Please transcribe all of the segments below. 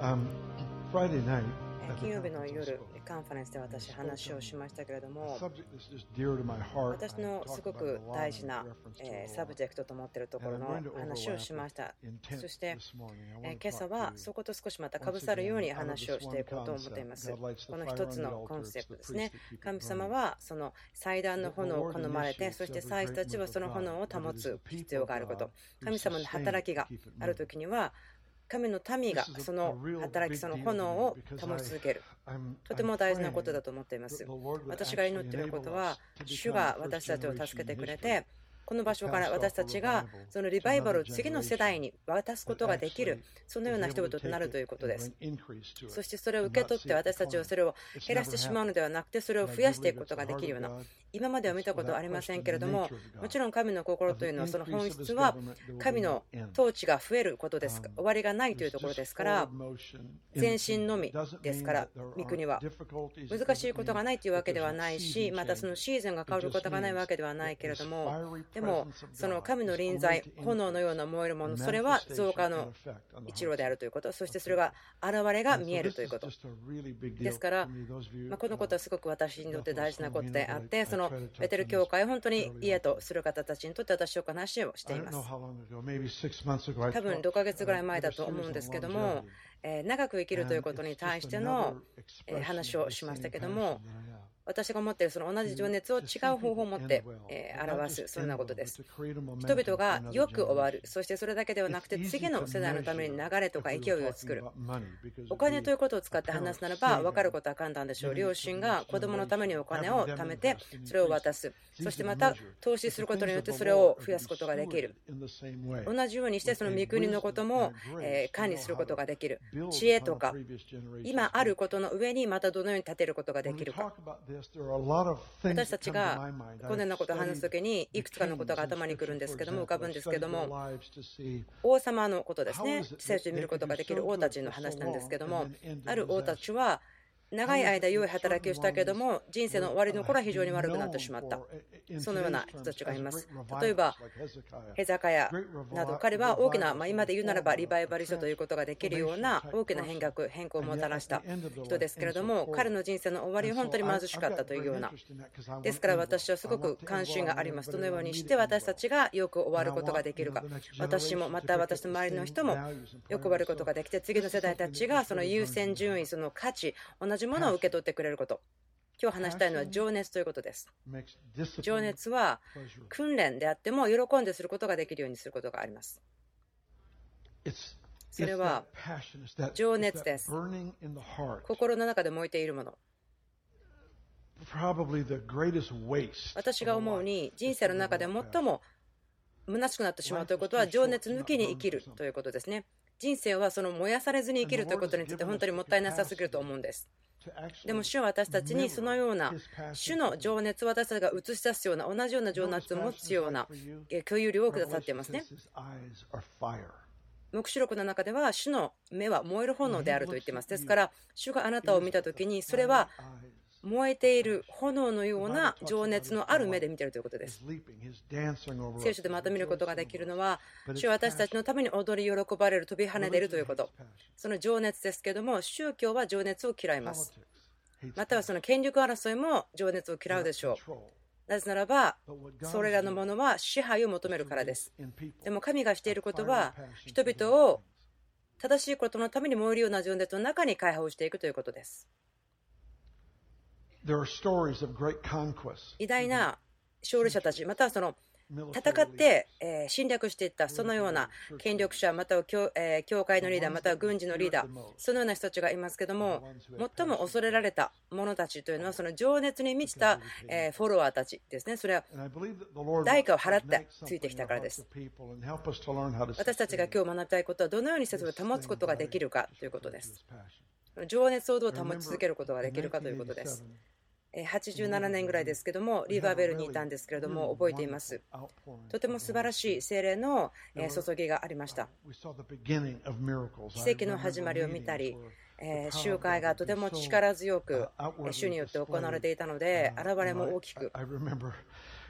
金曜日の夜、カンファレンスで私、話をしましたけれども、私のすごく大事なサブジェクトと思っているところの話をしました。そして、今朝はそこと少しまたかぶさるように話をしていこうと思っています。この一つのコンセプトですね。神様はその祭壇の炎を好まれて、そして祭司たちはその炎を保つ必要があること。神様の働きがあるときには、神の民がその働き、その炎を保ち続ける。とても大事なことだと思っています。私が祈っていることは、主が私たちを助けてくれて、この場所から私たちがそのリバイバルを次の世代に渡すことができる、そのような人々となるということです。そしてそれを受け取って私たちはそれを減らしてしまうのではなくて、それを増やしていくことができるような、今までは見たことはありませんけれども、もちろん神の心というのは、その本質は神の統治が増えることです終わりがないというところですから、前進のみですから、御国は難しいことがないというわけではないし、またそのシーズンが変わることがないわけではないけれども、でもその神の臨在、炎のような燃えるもの、それは増加の一路であるということ、そしてそれが現れが見えるということ。ですから、このことはすごく私にとって大事なことであって、そのベテル教会を本当に家とする方たちにとって私は話をしています。多分6ヶ月ぐらい前だと思うんですけども、長く生きるということに対しての話をしましたけども、私が持っているその同じ情熱を違う方法を持って表す、そんなことです。人々がよく終わる、そしてそれだけではなくて次の世代のために流れとか勢いを作る。お金ということを使って話すならば分かることは簡単でしょう。両親が子供のためにお金を貯めてそれを渡す、そしてまた投資することによってそれを増やすことができる。同じようにしてその御国のことも管理することができる。知恵とか今あることの上にまたどのように立てることができるか。私たちがこのようなことを話すときにいくつかのことが頭にくるんですけども、浮かぶんですけども、王様のことですね。聖書で見ることができる王たちの話なんですけども、ある王たちは長い間良い働きをしたけれども、人生の終わりの頃は非常に悪くなってしまった。そのような人たちがいます。例えばヘザカヤなど、彼は大きな、今で言うならばリバイバリストということができるような大きな変更をもたらした人ですけれども、彼の人生の終わりは本当に貧しかったというような。ですから私はすごく関心があります。どのようにして私たちがよく終わることができるか。私もまた私の周りの人もよく終わることができて、次の世代たちがその優先順位、その価値、同じものを受け取ってくれること。今日話したいのは情熱ということです。情熱は訓練であっても喜んですることができるようにすることがあります。それは情熱です。心の中で燃えているもの。私が思うに人生の中で最も虚しくなってしまうということは情熱抜きに生きるということですね。人生はその燃やされずに生きるということについて本当にもったいなさすぎると思うんです。でも主は私たちにそのような主の情熱を私たちが映し出すような同じような情熱を持つような共有量をくださっていますね。黙示録の中では主の目は燃える炎であると言っています。ですから主があなたを見たときにそれは燃えている炎のような情熱のある目で見ているということです。聖書でまた見ることができるのは、主は私たちのために踊り喜ばれる、飛び跳ねているということ。その情熱ですけども、宗教は情熱を嫌います。またはその権力争いも情熱を嫌うでしょう。なぜならば、それらのものは支配を求めるからです。でも神がしていることは、人々を正しいことのために燃えるような情熱の中に解放していくということです。偉大な勝利者たち、またはその戦って侵略していったそのような権力者、または教会のリーダー、または軍事のリーダー、そのような人たちがいますけども、最も恐れられた者たちというのはその情熱に満ちたフォロワーたちですね。それは代価を払ってついてきたからです。私たちが今日学びたいことはどのようにしてそれを保つことができるかということです。情熱をどう保ち続けることができるかということです。87年ぐらいですけども、リーバーベルにいたんですけれども、覚えています。とても素晴らしい聖霊の注ぎがありました。奇跡の始まりを見たり、集会がとても力強く主によって行われていたので、現れも大きく、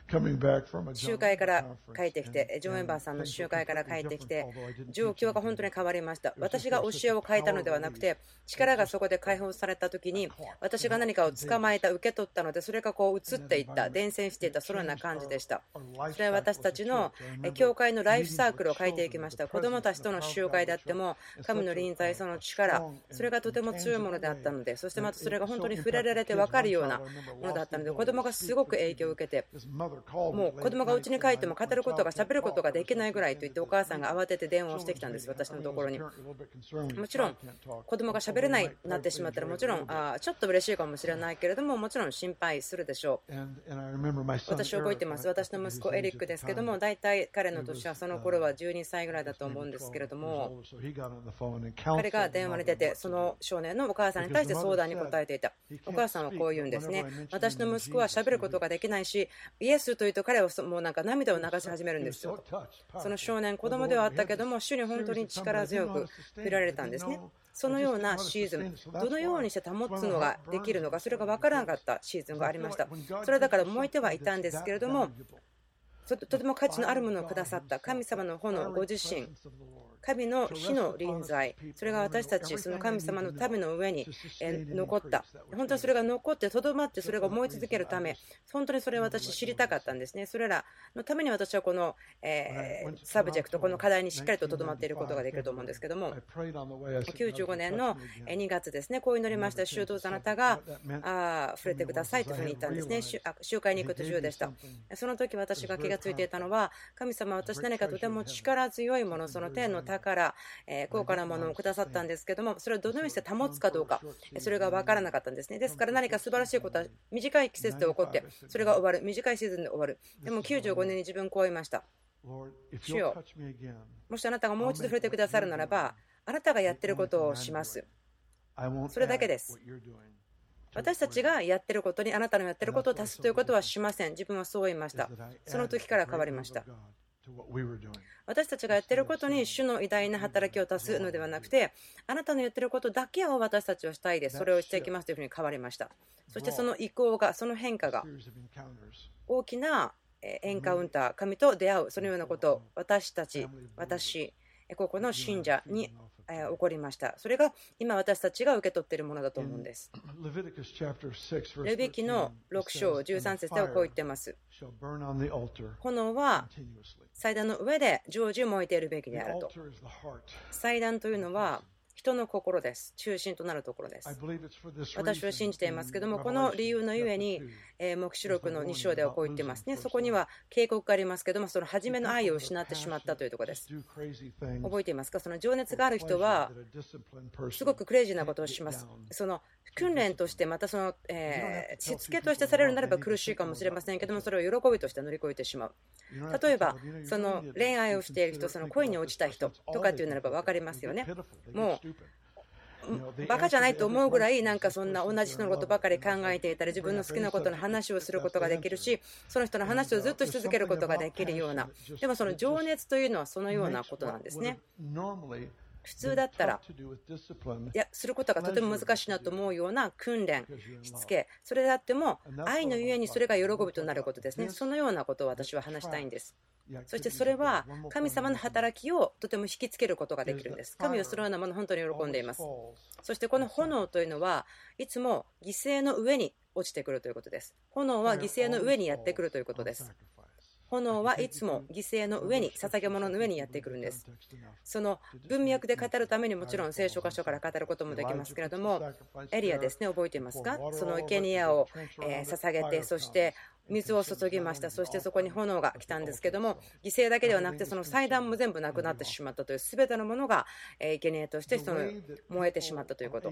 集会から帰ってきて、ジョン・エンバーさんの集会から帰ってきて、状況が本当に変わりました。私が教えを変えたのではなくて、力がそこで解放されたときに、私が何かを捕まえた、受け取ったので、それがこう移っていった、伝染していった、そのような感じでした。それは私たちの教会のライフサークルを変えていきました。子どもたちとの集会であっても、神の臨在、その力、それがとても強いものであったので、そしてまたそれが本当に触れられて分かるようなものだったので、子どもがすごく影響を受けて、もう子供が家に帰っても語ることが喋ることができないぐらいと言って、お母さんが慌てて電話をしてきたんです、私のところに。もちろん子供が喋れないなってしまったら、もちろんちょっと嬉しいかもしれないけれども、もちろん心配するでしょう。私覚えてます。私の息子エリックですけども、大体彼の年はその頃は12歳ぐらいだと思うんですけれども、彼が電話に出て、その少年のお母さんに対して相談に答えていた。お母さんはこう言うんですね。私の息子は喋ることができないし、イエスというと彼はもうなんか涙を流し始めるんですよ。その少年、子供ではあったけども、主に本当に力強く触れられたんですね。そのようなシーズン、どのようにして保つのができるのか、それが分からなかったシーズンがありました。それはだから燃えてはいたんですけれども、とても価値のあるものをくださった神様の炎、ご自身、神の火の臨在、それが私たち、その神様の民の上に残った。本当にそれが残って、とどまって、それが燃え続けるため、本当にそれを私、知りたかったんですね。それらのために私はこのサブジェクト、この課題にしっかりととどまっていることができると思うんですけども、95年の2月ですね、こう祈りました。主どうぞあなたが触れてくださいというふうに言ったんですね。集会に行く途中でした。その時私が気がついていたのは、神様は私何かとても力強いもの、その天の宝、高価なものをくださったんですけども、それをどのようにして保つかどうか、それが分からなかったんですね。ですから何か素晴らしいことは短い季節で起こって、それが終わる、短いシーズンで終わる。でも95年に自分こう言いました。主よ、もしあなたがもう一度触れてくださるならば、あなたがやっていることをします。それだけです。私たちがやっていることにあなたのやっていることを足すということはしません。自分はそう言いました。その時から変わりました。私たちがやっていることに主の偉大な働きを足すのではなくて、あなたのやっていることだけを私たちはしたいです。それをしていきますというふうに変わりました。そしてその移行が、その変化が大きなエンカウンター、神と出会う、そのようなことを私たち、ここの信者に起こりました。それが今私たちが受け取っているものだと思うんです。レビ記の6章13節ではこう言っています。炎は祭壇の上で常時燃えているべきであると。祭壇というのは人の心です。中心となるところです。私は信じていますけども、この理由のゆえに、黙示録の2章ではこう言っていますね。そこには警告がありますけども、その初めの愛を失ってしまったというところです。覚えていますか？その情熱がある人は、すごくクレイジーなことをします。その訓練として、またその、しつけとしてされるならば苦しいかもしれませんけども、それを喜びとして乗り越えてしまう。例えば、その恋愛をしている人、その恋に落ちた人とかっていうならば分かりますよね。もうバカじゃないと思うぐらい、なんかそんな同じ人のことばかり考えていたり、自分の好きなことの話をすることができるし、その人の話をずっとし続けることができるような、でもその情熱というのはそのようなことなんですね。普通だったらすることがとても難しいなと思うような訓練、しつけ、それであっても愛のゆえにそれが喜びとなることですね。そのようなことを私は話したいんです。そしてそれは神様の働きをとても引きつけることができるんです。神はそのようなものを本当に喜んでいます。そしてこの炎というのはいつも犠牲の上に落ちてくるということです。炎は犠牲の上にやってくるということです。炎はいつも犠牲の上に、捧げ物の上にやってくるんです。その文脈で語るためにもちろん聖書箇所から語ることもできますけれども、エリアですね、覚えていますか？その生贄を捧げて、そして水を注ぎました。そしてそこに炎が来たんですけども、犠牲だけではなくてその祭壇も全部なくなってしまったという、全てのものが生贄としてその燃えてしまったということ。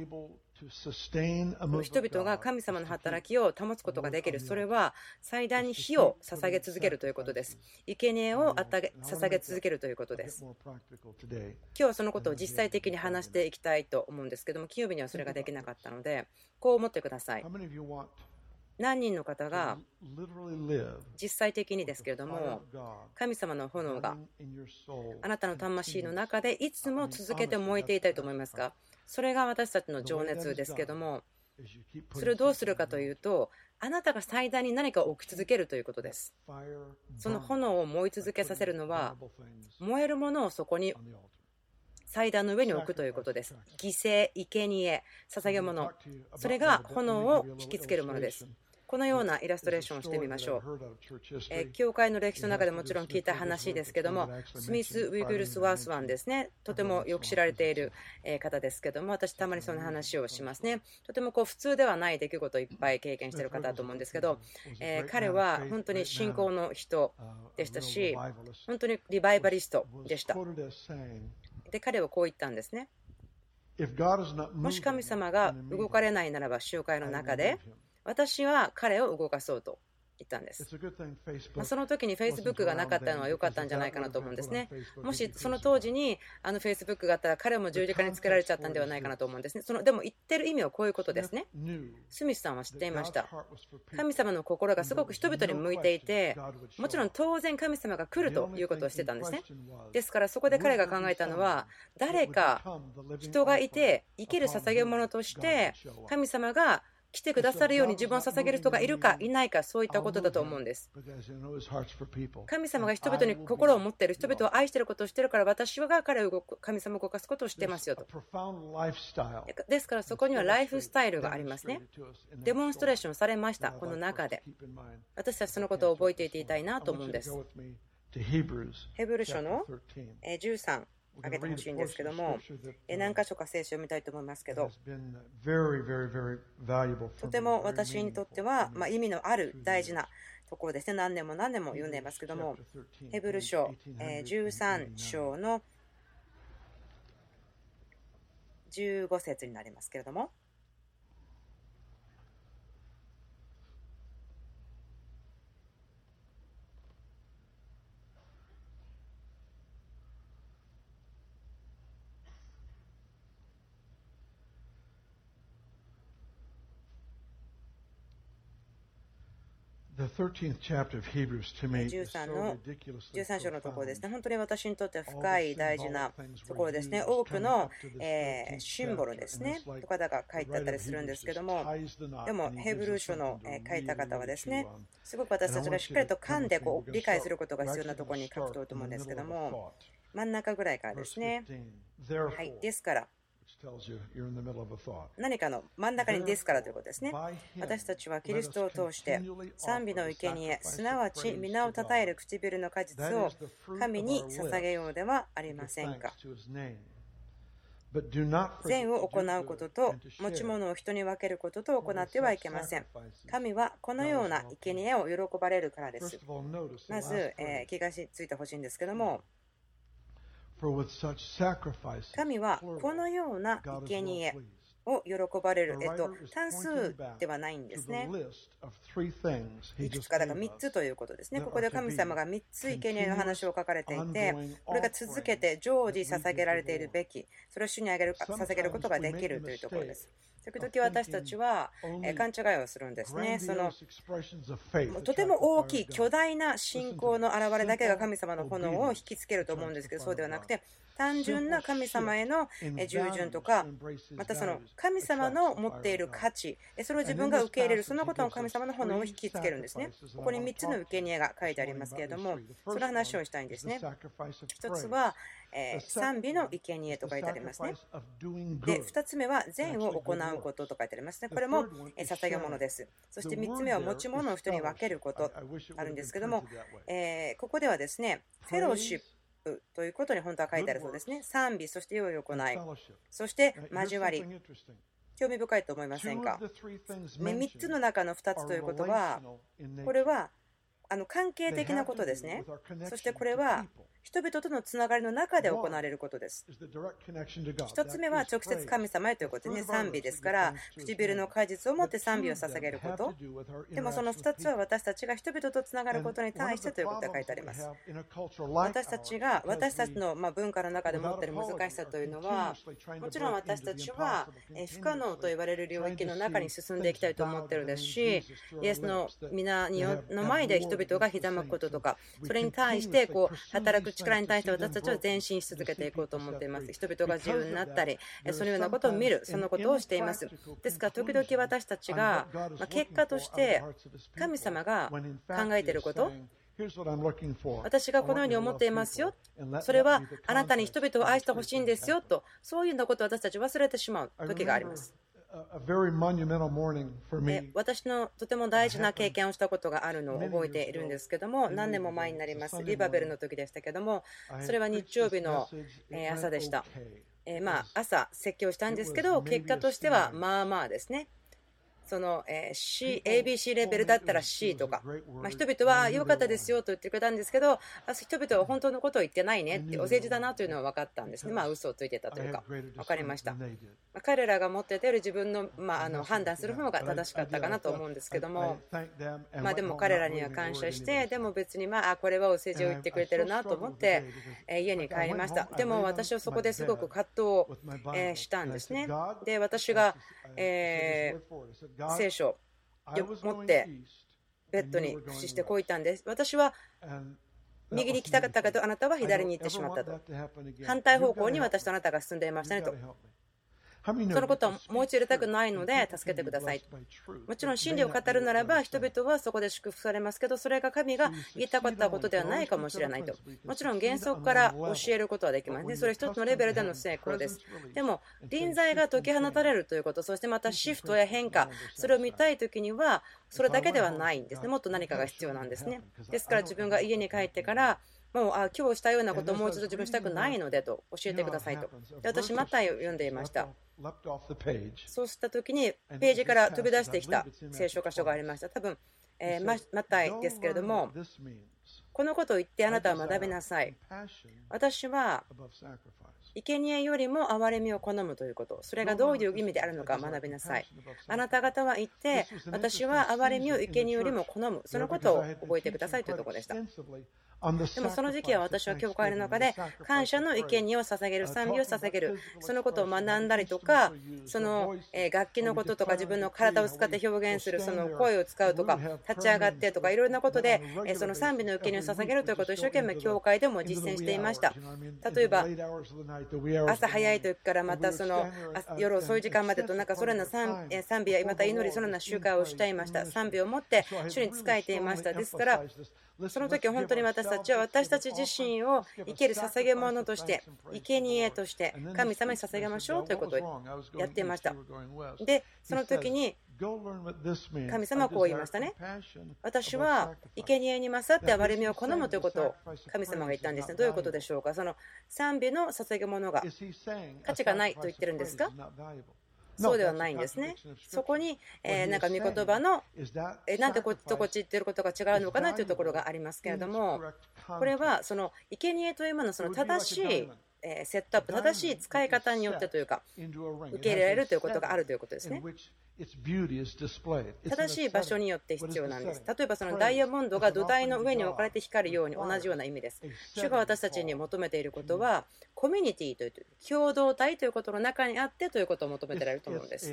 人々が神様の働きを保つことができる、それは祭壇に火を捧げ続けるということです。生贄を捧げ続けるということです。今日はそのことを実際的に話していきたいと思うんですけども、金曜日にはそれができなかったので、こう思ってください。何人の方が実際的にですけれども、神様の炎があなたの魂の中でいつも続けて燃えていたいと思いますか？それが私たちの情熱ですけれども、 それをどうするかというと、あなたが祭壇に何かを置き続けるということです。その炎を燃え続けさせるのは、燃えるものをそこに祭壇の上に置くということです。犠牲、生贄、捧げ物、それが炎を引きつけるものです。このようなイラストレーションをしてみましょう。教会の歴史の中でもちろん聞いた話ですけども、スミス・ウィグルスワースワンですね、とてもよく知られている方ですけども、私たまにその話をしますね。とても普通ではない出来事をいっぱい経験している方だと思うんですけど、彼は本当に信仰の人でしたし、本当にリバイバリストでした。で、彼はこう言ったんですね。もし神様が動かれないならば、集会の中で私は彼を動かそうと言ったんです。その時に Facebook がなかったのは良かったんじゃないかなと思うんですね。もしその当時にFacebook があったら彼も十字架につけられちゃったんではないかなと思うんですね。でも言ってる意味はこういうことですね。スミスさんは知っていました。神様の心がすごく人々に向いていて、もちろん当然神様が来るということをしてたんですね。ですからそこで彼が考えたのは、誰か人がいて生ける捧げ物として神様が来てくださるように自分を捧げる人がいるかいないか、そういったことだと思うんです。神様が人々に心を持っている、人々を愛していることをしているから、私が彼を神様を動かすことをしてますよと。ですからそこにはライフスタイルがありますね。デモンストレーションされました。この中で私たちそのことを覚えていたいなと思うんです。ヘブル書の13挙げてほしいんですけども、何箇所か聖書を見たいと思いますけど、とても私にとっては意味のある大事なところですね。何年も何年も読んでいますけども、ヘブル書13章の15節になりますけれども、13章のところですね。本当に私にとっては深い大事なところですね。多くのシンボルですねとかが書いてあったりするんですけども、でもヘブル書の書いた方はですね、すごく私たちがしっかりと噛んで理解することが必要なところに書くと思うんですけども、真ん中ぐらいからですね。はい、ですから何かの真ん中にですからということですね。私たちはキリストを通して賛美の生贄、すなわち皆をたたえる唇の果実を神に捧げようではありませんか。善を行うことと持ち物を人に分けることと行ってはいけません。神はこのような生贄を喜ばれるからです。まず気がついてほしいんですけども、神はこのような生贄を喜ばれる、単数ではないんですね。いくつかだから3つということですね。ここで神様が3つ生贄の話を書かれていて、これが続けて常時捧げられているべき、それを主に捧げることができるというところです。時々私たちは勘違いをするんですね。とても大きい巨大な信仰の表れだけが神様の炎を引きつけると思うんですけど、そうではなくて、単純な神様への従順とか、またその神様の持っている価値、それを自分が受け入れる、そのことの神様の炎を引きつけるんですね。ここに3つの生贄が書いてありますけれども、その話をしたいんですね。1つは賛美の生贄と書いてありますね。で、2つ目は善を行うことと書いてありますね。これも捧げ物です。そして3つ目は持ち物を人に分けることあるんですけども、ここではですね、フェローシップということに本当は書いてあるそうですね。賛美、そして良い行い、そして交わり。興味深いと思いませんか。3つの中の2つということは、これは関係的なことですね。そしてこれは人々とのつながりの中で行われることです。1つ目は直接神様へということでね、賛美ですから、唇の果実を持って賛美を捧げること。でもその2つは私たちが人々とつながることに対してということが書いてあります。私たちの文化の中で持っている難しさというのは、もちろん私たちは不可能と言われる領域の中に進んでいきたいと思っているですし、イエスの皆の前で人々がひざまくこととか、それに対して働く力に対して私たちは前進し続けていこうと思っています。人々が自由になったり、そのようなことを見る、そのことをしています。ですから、時々私たちが結果として神様が考えていること、私がこのように思っていますよ、それはあなたに人々を愛してほしいんですよと、そういうようなことを私たち忘れてしまう時があります。私のとても大事な経験をしたことがあるのを覚えているんですけども、何年も前になります。リバベルの時でしたけども、それは日曜日の朝でした。朝説教したんですけど、結果としてはまあまあですね。その ABC レベルだったら C とか、人々は良かったですよと言ってくれたんですけど、人々は本当のことを言ってないねって、お世辞だなというのは分かったんですね。嘘をついてたというか、分かりました。彼らが持っている自分の判断する方が正しかったかなと思うんですけども、でも彼らには感謝して、でも別にこれはお世辞を言ってくれてるなと思って家に帰りました。でも私はそこですごく葛藤をしたんですね。で、私が聖書を持ってベッドに伏してこう言ったんです。私は右に行きたかったけどあなたは左に行ってしまったと。反対方向に私とあなたが進んでいましたねと。そのことはもう一度入れたくないので助けてください。もちろん真理を語るならば人々はそこで祝福されますけど、それが神が言いたかったことではないかもしれないと。もちろん原則から教えることはできますね。それ一つのレベルでの成功です。でも臨在が解き放たれるということ、そしてまたシフトや変化、それを見たいときにはそれだけではないんですね。もっと何かが必要なんですね。ですから自分が家に帰ってからもう今日したようなことをもう一度自分したくないのでと教えてくださいと。で、私マタイを読んでいました。そうした時にページから飛び出してきた聖書箇所がありました。多分マタイですけれども、このことを言ってあなたは学びなさい。私は生贄よりも憐れみを好むということ、それがどういう意味であるのか学びなさい。あなた方は言って私は憐れみを生贄よりも好む、そのことを覚えてくださいというところでした。でもその時期は私は教会の中で感謝の生贄を捧げる、賛美を捧げる、そのことを学んだりとか、その楽器のこととか自分の体を使って表現する、その声を使うとか立ち上がってとかいろいろなことでその賛美の生贄を捧げるということを一生懸命教会でも実践していました。例えば朝早い時からまたその夜遅い時間までとそれらの賛美やまた祈り、そのような集会をしていました。賛美を持って主に仕えていました。ですからその時本当に私たちは私たち自身を生ける捧げ物として生贄として神様に捧げましょうということをやっていました。でその時に神様はこう言いましたね。私は生贄に勝って憐れみを好むということを神様が言ったんですね。どういうことでしょうか。その賛美の捧げ物が価値がないと言ってるんですか。そうではないんですね。そこに御言葉のなんでこっちとこっち言ってることが違うのかなというところがありますけれども、これはその生贄というもののその正しいセットアップ、正しい使い方によってというか受け入れられるということがあるということですね。正しい場所によって必要なんです。例えばそのダイヤモンドが土台の上に置かれて光るように同じような意味です。主が私たちに求めていることはコミュニティという共同体ということの中にあってということを求めていられると思うんです。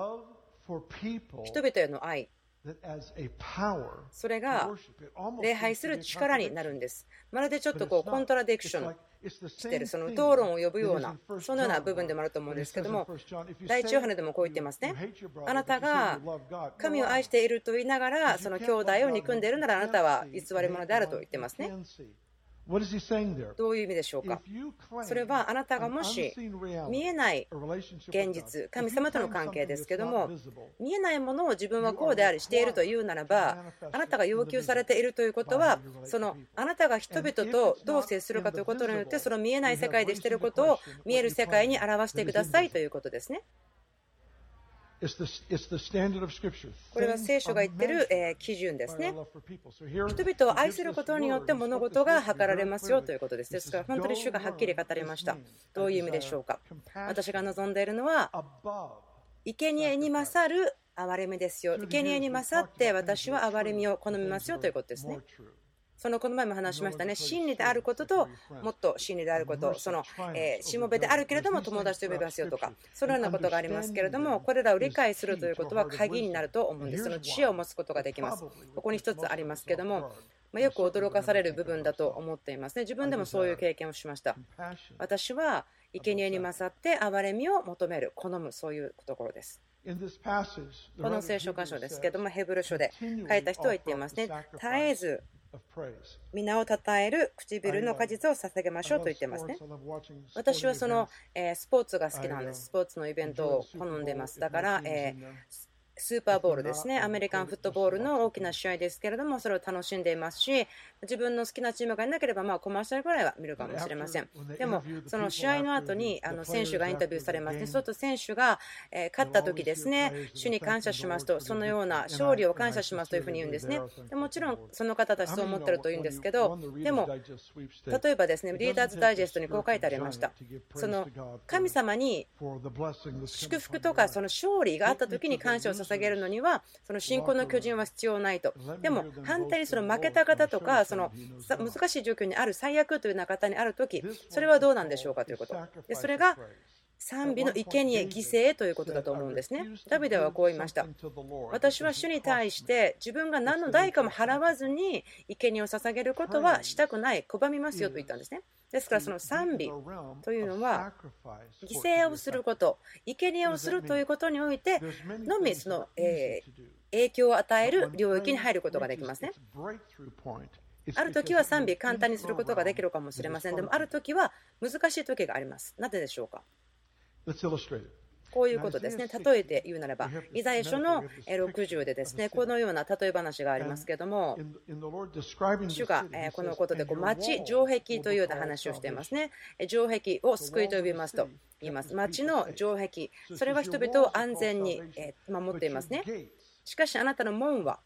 人々への愛、それが礼拝する力になるんです。まるでちょっとコントラディクションしている、その討論を呼ぶようなそのような部分でもあると思うんですけども、第一ヨハネでもこう言ってますね。あなたが神を愛していると言いながらその兄弟を憎んでいるならあなたは偽り者であると言ってますね。どういう意味でしょうか。それはあなたがもし見えない現実、神様との関係ですけども、見えないものを自分はこうでありしているというならば、あなたが要求されているということは、そのあなたが人々とどう接するかということによって、その見えない世界でしていることを見える世界に表してくださいということですね。これは聖書が言っている基準ですね。人々を愛することによって物事が図られますよということです。ですから本当に主がはっきり語りました。どういう意味でしょうか。私が望んでいるのは生贄に勝る憐れみですよ。生贄に勝って私は憐れみを好みますよということですね。 この前も話しましたね。真理であることと、もっと真理であること、しもべであるけれども友達と呼びますよとか、そのようなことがありますけれども、これらを理解するということは鍵になると思うんです。その知恵を持つことができます。ここに一つありますけれども、よく驚かされる部分だと思っていますね。自分でもそういう経験をしました。私は生贄に勝って憐れみを求める、好む、そういうところです。この聖書箇所ですけれども、ヘブル書で書いた人は言っていますね。絶えず皆を称える唇の果実を捧げましょうと言っていますね。私はスポーツが好きなんです。スポーツのイベントを好んでいます。だから、スーパーボウルですね、アメリカンフットボールの大きな試合ですけれども、それを楽しんでいますし、自分の好きなチームがいなければ、コマーシャルぐらいは見るかもしれません。でも、その試合の後に選手がインタビューされますね。そうすると選手が勝った時ですね、主に感謝しますと、そのような勝利を感謝しますというふうに言うんですね。でもちろん、その方たちそう思ってるというんですけど、でも、例えばですね、リーダーズダイジェストにこう書いてありました。神様に祝福とかその勝利があった時に感謝を捧げるのには、その信仰の巨人は必要ないと。でも反対にその負けた方とか、その難しい状況にある、最悪というような方にある時、それはどうなんでしょうかということ。でそれが賛美の生贄、犠牲ということだと思うんですね。ダビデはこう言いました。私は主に対して自分が何の代価も払わずに生贄を捧げることはしたくない、拒みますよと言ったんですね。ですからその賛美というのは犠牲をすること、生贄をするということにおいてのみその影響を与える領域に入ることができますね。ある時は賛美簡単にすることができるかもしれません。でもある時は難しい時があります。なぜでしょうか。こういうことですね。例えて言うならば、イザヤ書の60でですね、このような例え話がありますけれども、主がこのことで町、城壁というような話をしていますね。城壁を救いと呼びますと言います。町の城壁、それは人々を安全に守っていますね。しかしあなたの門は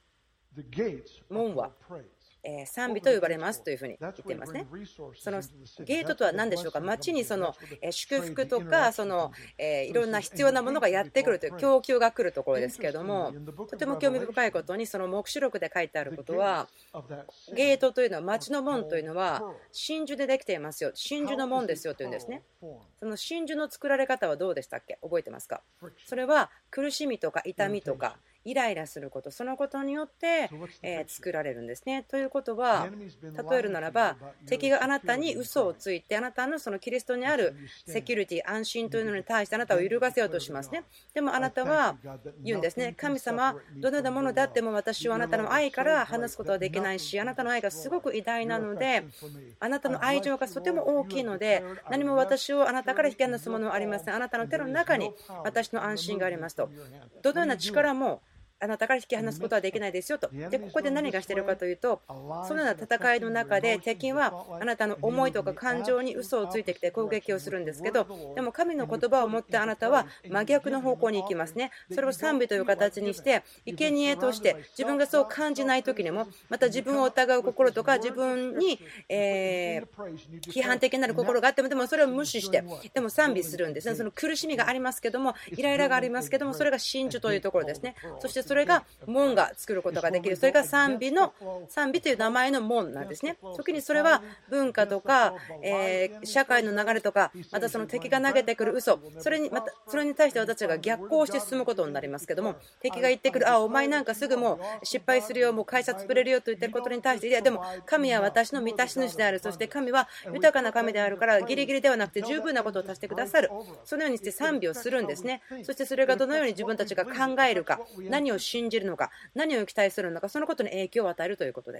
賛美と呼ばれますというふうに言っていますね。そのゲートとは何でしょうか。町にその祝福とかいろんな必要なものがやってくるという供給が来るところですけれども、とても興味深いことにその黙示録で書いてあることは、ゲートというのは、町の門というのは真珠でできていますよ、真珠の門ですよというんですね。その真珠の作られ方はどうでしたっけ、覚えてますか。それは苦しみとか痛みとかイライラすること、そのことによって作られるんですね。ということは、例えるならば、敵があなたに嘘をついて、あなたのそのキリストにあるセキュリティ、安心というのに対してあなたを揺るがせようとしますね。でもあなたは言うんですね。神様、どのようなものであっても私はあなたの愛から離すことはできないし、あなたの愛がすごく偉大なので、あなたの愛情がとても大きいので、何も私をあなたから引き離すものはありません。あなたの手の中に私の安心がありますと。どのような力もあなたから引き離すことはできないですよと。で、ここで何がしているかというと、そのような戦いの中で敵はあなたの思いとか感情に嘘をついてきて攻撃をするんですけど、でも神の言葉を持ってあなたは真逆の方向に行きますね。それを賛美という形にして、生贄として自分がそう感じない時にも、また自分を疑う心とか自分に批判的になる心があっても、でもそれを無視して、でも賛美するんですね。その苦しみがありますけども、イライラがありますけども、それが真珠というところですね。そしてそれが門が作ることができる。それが賛美という名前の門なんですね。時にそれは文化とか、社会の流れとか、またその敵が投げてくる嘘、それに対して私たちが逆行して進むことになりますけども、敵が言ってくる、お前なんかすぐもう失敗するよ、もう会社潰れるよと言ってることに対して、いやでも神は私の満たし主である、そして神は豊かな神であるから、ギリギリではなくて十分なことを足してくださる。そのようにして賛美をするんですね。そしてそれがどのように自分たちが考えるか、何を信じるのか、何を期待するのか、そのことに影響を与えるということです。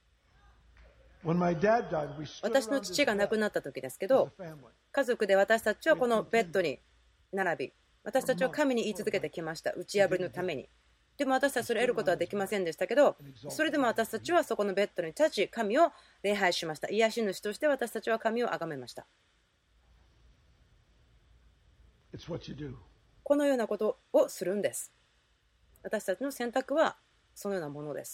私の父が亡くなった時ですけど、家族で私たちはこのベッドに並び、私たちは神に言い続けてきました。打ち破りのために。でも私たちはそれを得ることはできませんでしたけど、それでも私たちはそこのベッドに立ち、神を礼拝しました。癒し主として私たちは神を崇めました。このようなことをするんです。私たちの選択はそのようなものです。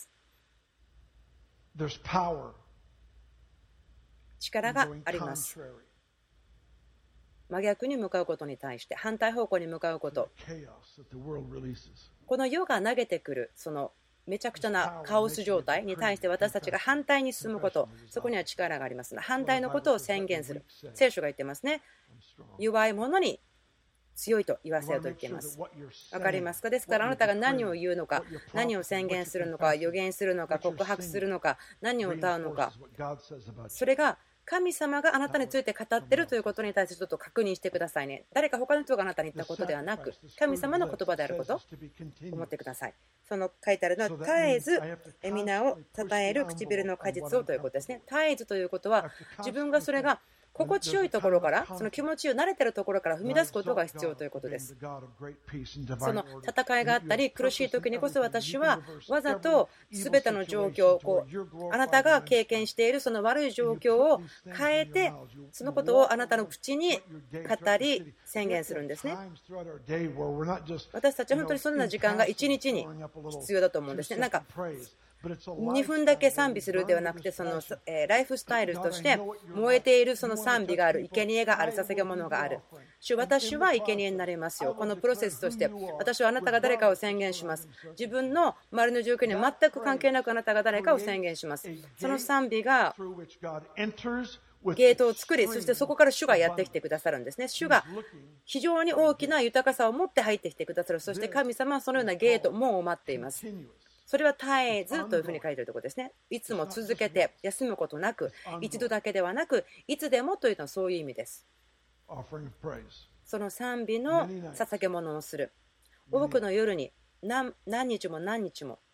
力があります。真逆に向かうことに対して、反対方向に向かうこと、この世が投げてくるそのめちゃくちゃなカオス状態に対して私たちが反対に進むこと、そこには力があります。反対のことを宣言する。聖書が言ってますね。弱い者に強いと言わせようと言っています。わかりますか？ですからあなたが何を言うのか、何を宣言するのか、予言するのか、告白するのか、何を歌うのか、それが神様があなたについて語っているということに対してちょっと確認してくださいね。誰か他の人があなたに言ったことではなく、神様の言葉であることを思ってください。その書いてあるのは、絶えず皆を称える唇の果実をということですね。絶えずということは、自分がそれが心地よいところから、その気持ちを慣れているところから踏み出すことが必要ということです。その戦いがあったり苦しい時にこそ私はわざと全ての状況をあなたが経験しているその悪い状況を変えて、そのことをあなたの口に語り宣言するんですね。私たちは本当にそんな時間が1日に必要だと思うんですね。なんか2分だけ賛美するではなくて、そのライフスタイルとして燃えているその賛美がある、生贄がある、捧げ物がある。主、私は生贄になりますよ。このプロセスとして私はあなたが誰かを宣言します。自分の周りの状況には全く関係なくあなたが誰かを宣言します。その賛美がゲートを作り、そしてそこから主がやってきてくださるんですね。主が非常に大きな豊かさを持って入ってきてくださる。そして神様はそのようなゲートも待っています。それは絶えずというふうに書いているところですね。いつも続けて休むことなく、一度だけではなく、いつでもというのはそういう意味です。その賛美の捧げ物をする。多くの夜に何日も何日も。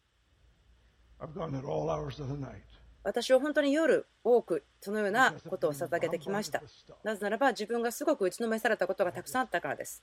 私は本当に夜多くそのようなことを捧げてきました。なぜならば自分がすごく打ちのめされたことがたくさんあったからです。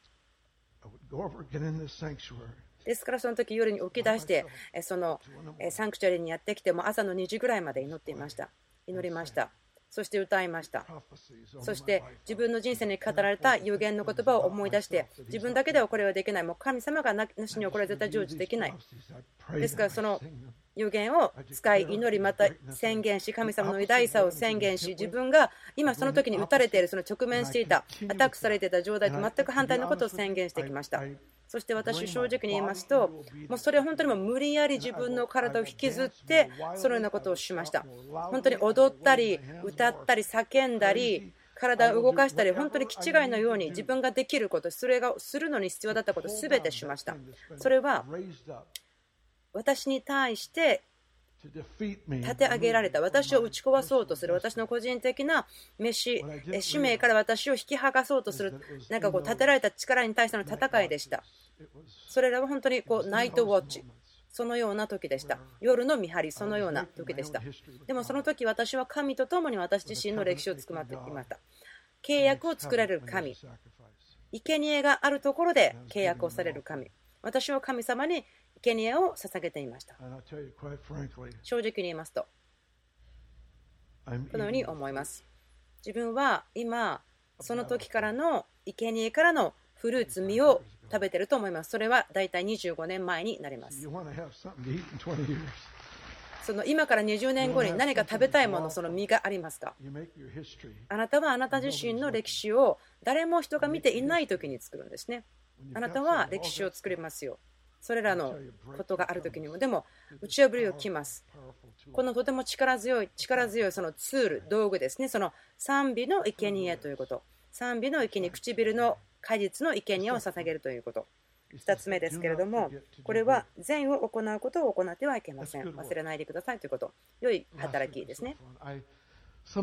ですからその時夜に起き出してそのサンクチュアリにやってきても朝の2時ぐらいまで祈っていました。祈りました。そして歌いました。そして自分の人生に語られた預言の言葉を思い出して、自分だけではこれはできない、もう神様がなしにはこれは絶対成就できない。ですからその預言を使い祈り、また宣言し、神様の偉大さを宣言し、自分が今その時に打たれている、その直面していたアタックされていた状態と全く反対のことを宣言してきました。そして私正直に言いますと、もうそれは本当にもう無理やり自分の体を引きずってそのようなことをしました。本当に踊ったり歌ったり叫んだり体を動かしたり、本当に気違いのように自分ができること、それがするのに必要だったこと全てしました。それは私に対して立て上げられた、私を打ち壊そうとする、私の個人的な使命から私を引き剥がそうとする、なんかこう立てられた力に対しての戦いでした。それらは本当にこうナイトウォッチ、そのような時でした。夜の見張り、そのような時でした。でもその時私は神と共に私自身の歴史を作っていました。契約を作られる神、生贄があるところで契約をされる神、私は神様に生贄を捧げていました。正直に言いますとこのように思います。自分は今その時からの生贄からのフルーツ実を食べていると思います。それはだいたい25年前になります。その今から20年後に何か食べたいもの、その実がありますか？あなたはあなた自身の歴史を誰も人が見ていない時に作るんですね。あなたは歴史を作りますよ。それらのことがある時にも。でも打ち破りをきます。このとても力強いそのツール、道具ですね。その賛美の生贄ということ、賛美の生贄、唇の果実の生贄を捧げるということ。2つ目ですけれども、これは善を行うことを行ってはいけません。忘れないでくださいということ。良い働きですね。す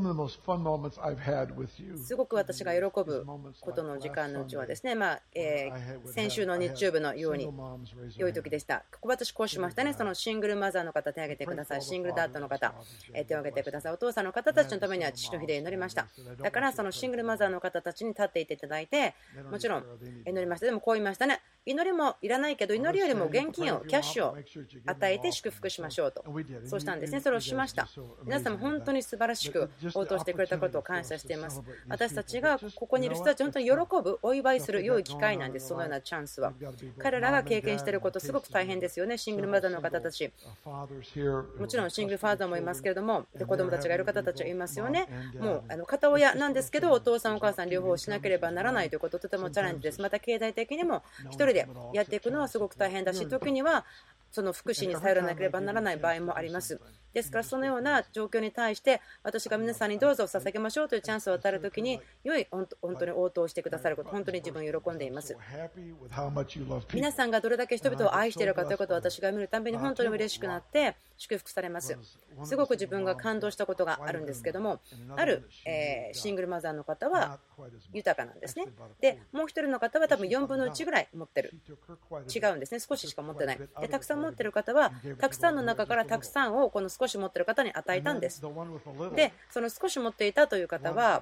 ごく私が喜ぶことの時間のうちはですね、先週の日曜日のように良い時でした。ここ私こうしましたね。そのシングルマザーの方手を挙げてください。シングルダッドの方手を挙げてください。お父さんの方たちのためには父の日で祈りました。だからそのシングルマザーの方たちに立っていていただいて、もちろん祈りました。でもこう言いましたね。祈りもいらないけど、祈りよりも現金を、キャッシュを与えて祝福しましょうと。そうしたんですね。それをしました。皆様本当に素晴らしく応答してくれたことを感謝しています。私たちがここにいる人たち、本当に喜ぶ、お祝いする良い機会なんです。そのようなチャンスは。彼らが経験していること、すごく大変ですよね。シングルマザーの方たち。もちろんシングルファーザーもいますけれども、子供たちがいる方たちはいますよね。もう片親なんですけど、お父さんお母さん両方しなければならないということ、とてもチャレンジです。また経済的にも一人人でやっていくのはすごく大変だし、時にはその福祉に頼らなければならない場合もあります。ですからそのような状況に対して私が皆さんにどうぞ捧げましょうというチャンスを与えるときに良い本当に応答してくださること、本当に自分喜んでいます。皆さんがどれだけ人々を愛しているかということを私が見るたびに本当に嬉しくなって祝福されます。すごく自分が感動したことがあるんですけども、あるシングルマザーの方は豊かなんですね。でもう一人の方は多分4分の1ぐらい持ってる、違うんですね。少ししか持ってない。でたくさん持っている方はたくさんの中からたくさんをこの少し持っている方に与えたんです。でその少し持っていたという方は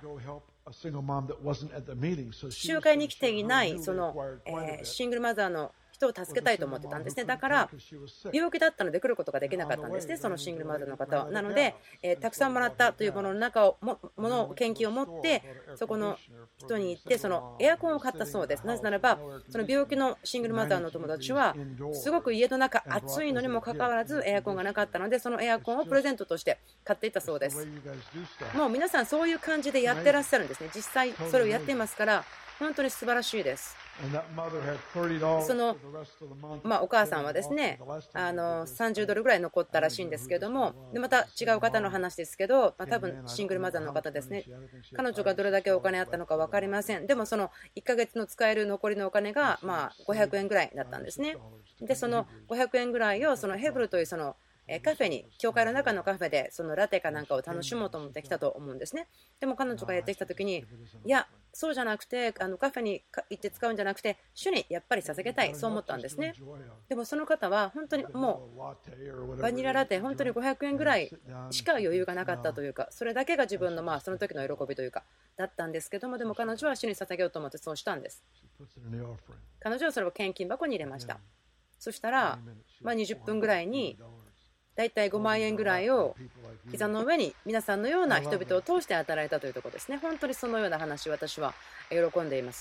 集会に来ていないそのシングルマザーの人を助けたいと思ってたんですね。だから病気だったので来ることができなかったんですね、そのシングルマザーの方は。なのでたくさんもらったというものの中を献金を持ってそこの人に行ってそのエアコンを買ったそうです。なぜならばその病気のシングルマザーの友達はすごく家の中暑いのにもかかわらずエアコンがなかったのでそのエアコンをプレゼントとして買っていったそうです。もう皆さんそういう感じでやってらっしゃるんですね。実際それをやっていますから本当に素晴らしいです。そのお母さんはですね30ドルぐらい残ったらしいんですけども、でまた違う方の話ですけど、多分シングルマザーの方ですね。彼女がどれだけお金あったのか分かりません。でもその1ヶ月の使える残りのお金が500円ぐらいだったんですね。でその500円ぐらいをそのヘブルというそのカフェに、教会の中のカフェでそのラテかなんかを楽しもうと思ってきたと思うんですね。でも彼女がやってきた時に、いやそうじゃなくてカフェに行って使うんじゃなくて主にやっぱり捧げたい、そう思ったんですね。でもその方は本当にもうバニララテ本当に500円ぐらいしか余裕がなかったというか、それだけが自分のその時の喜びというかだったんですけども、でも彼女は主に捧げようと思ってそうしたんです。彼女はそれを献金箱に入れました。そしたら20分ぐらいにだいたい5万円ぐらいを膝の上に皆さんのような人々を通して与えられたというところですね。本当にそのような話、私は喜んでいます。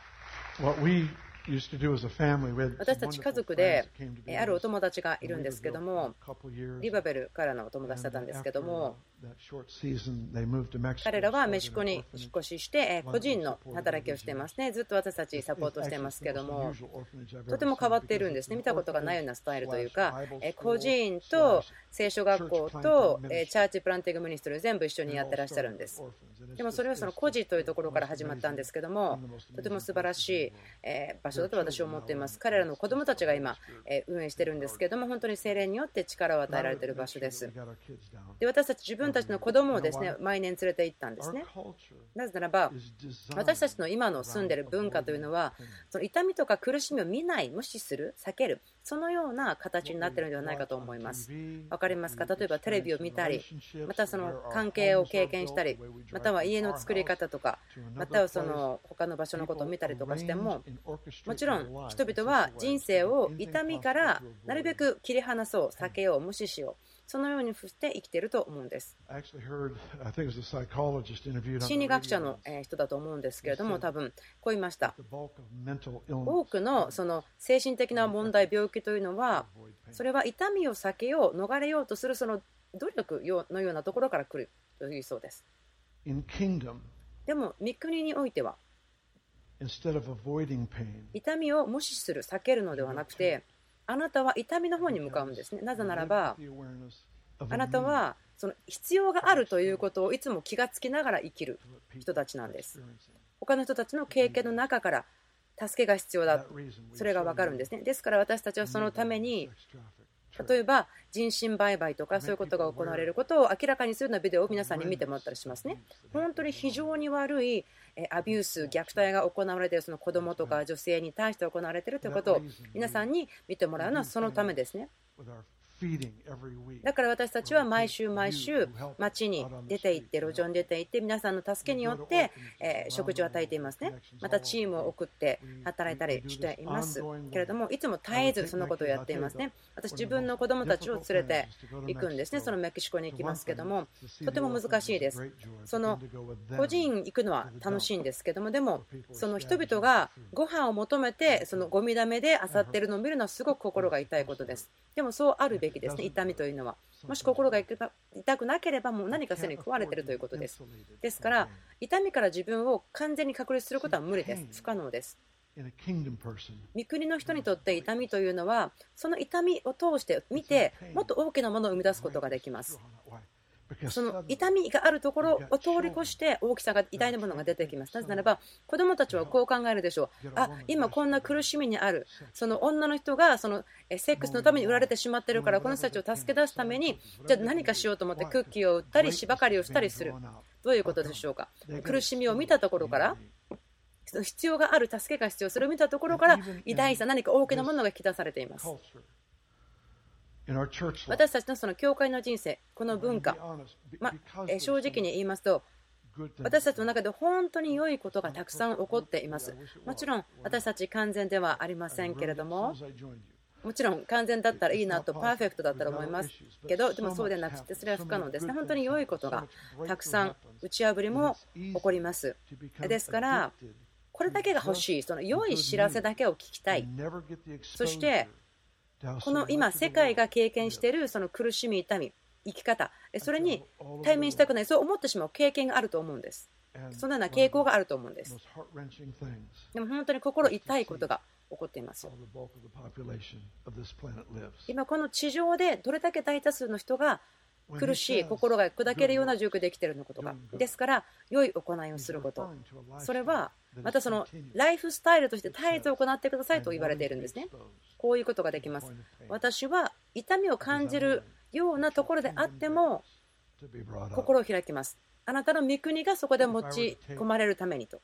私たち家族であるお友達がいるんですけども、リバベルからのお友達だったんですけども、彼らはメキシコに引っ越しして個人の働きをしていますね。ずっと私たちサポートしていますけども、とても変わっているんですね。見たことがないようなスタイルというか、個人と聖書学校とチャーチプランティングミニストリー全部一緒にやってらっしゃるんです。でもそれはその個人というところから始まったんですけども、とても素晴らしい場所だと私は思っています。彼らの子どもたちが今運営しているんですけども、本当に聖霊によって力を与えられている場所です。で私たち自分たちの子供をですね毎年連れて行ったんですね。なぜならば私たちの今の住んでいる文化というのはその痛みとか苦しみを見ない、無視する、避ける、そのような形になっているのではないかと思います。わかりますか？例えばテレビを見たり、またその関係を経験したり、または家の作り方とか、またはその他の場所のことを見たりとかしても、もちろん人々は人生を痛みからなるべく切り離そう、避けよう、無視しよう、そのようにして生きていると思うんです。心理学者の人だと思うんですけれども、多分こう言いました。多くのその精神的な問題、病気というのは、それは痛みを避けよう、逃れようとするその努力のようなところから来るというそうです。でも御国においては痛みを無視する、避けるのではなくて、あなたは痛みの方に向かうんですね。なぜならばあなたはその必要があるということをいつも気がつきながら生きる人たちなんです。他の人たちの経験の中から助けが必要だ、それが分かるんですね。ですから私たちはそのために例えば人身売買とかそういうことが行われることを明らかにするようなビデオを皆さんに見てもらったりしますね。本当に非常に悪いアビュース、虐待が行われているその子どもとか女性に対して行われているということを皆さんに見てもらうのはそのためですね。だから私たちは毎週毎週街に出て行って路上に出て行って皆さんの助けによって食事を与えていますね。またチームを送って働いたりしていますけれども、いつも絶えずそのことをやっていますね。私自分の子供たちを連れて行くんですね。そのメキシコに行きますけども、とても難しいです。その個人行くのは楽しいんですけども、でもその人々がご飯を求めてそのゴミだめで漁っているのを見るのはすごく心が痛いことです。でもそうあるべきですね。痛みというのはもし心が痛くなければもう何かすでに食われているということです。ですから痛みから自分を完全に隔離することは無理です。不可能です。 御国の人にとって痛みというのは、その痛みを通して見て、もっと大きなものを生み出すことができます。その痛みがあるところを通り越して大きさが偉大なものが出てきます。なぜならば子どもたちはこう考えるでしょう。今こんな苦しみにある、その女の人がそのセックスのために売られてしまっているから、この人たちを助け出すためにじゃあ何かしようと思ってクッキーを売ったり芝刈りをしたりする。どういうことでしょうか。苦しみを見たところから、必要がある、助けが必要、それを見たところから偉大さ、何か大きなものが引き出されています。私たちのその教会の人生、この文化、正直に言いますと、私たちの中で本当に良いことがたくさん起こっています。もちろん私たち完全ではありませんけれども、もちろん完全だったらいいなと、パーフェクトだったら思いますけど、でもそうでなくて、それは不可能ですね。本当に良いことがたくさん、打ち破りも起こります。ですから、これだけが欲しい、その良い知らせだけを聞きたい。そしてこの今世界が経験しているその苦しみ、痛み、生き方、それに対面したくない、そう思ってしまう経験があると思うんです。そのような傾向があると思うんです。でも本当に心痛いことが起こっています。今この地上でどれだけ大多数の人が苦しい、心が砕けるような状況で生きているのことか。ですから良い行いをすること、それはまたそのライフスタイルとして絶えず行ってくださいと言われているんですね。こういうことができます。私は痛みを感じるようなところであっても心を開きます。あなたの御国がそこで持ち込まれるためにと。